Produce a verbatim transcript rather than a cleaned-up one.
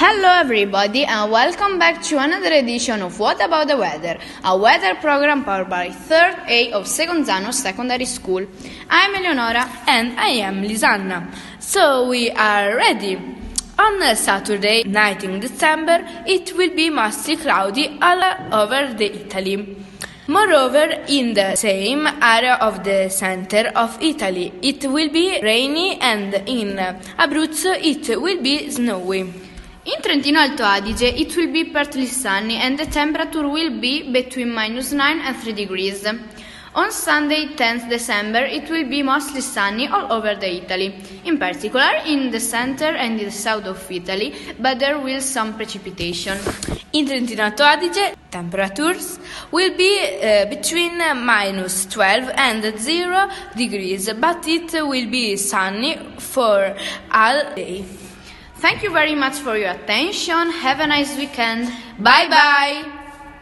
Hello everybody and welcome back to another edition of What About the Weather, a weather program powered by third A of Seconzano Secondary School. I'm Eleonora and I am Lisanna. So we are ready. On Saturday, nineteenth December, it will be mostly cloudy all over the Italy. Moreover, in the same area of the center of Italy, it will be rainy and in Abruzzo it will be snowy. In Trentino Alto Adige, it will be partly sunny and the temperature will be between minus nine and three degrees. On Sunday, tenth December, it will be mostly sunny all over the Italy, in particular in the center and in the south of Italy, but there will be some precipitation. In Trentino Alto Adige, temperatures will be uh, between minus twelve and zero degrees, but it will be sunny for all day. Thank you very much for your attention. Have a nice weekend. Bye bye.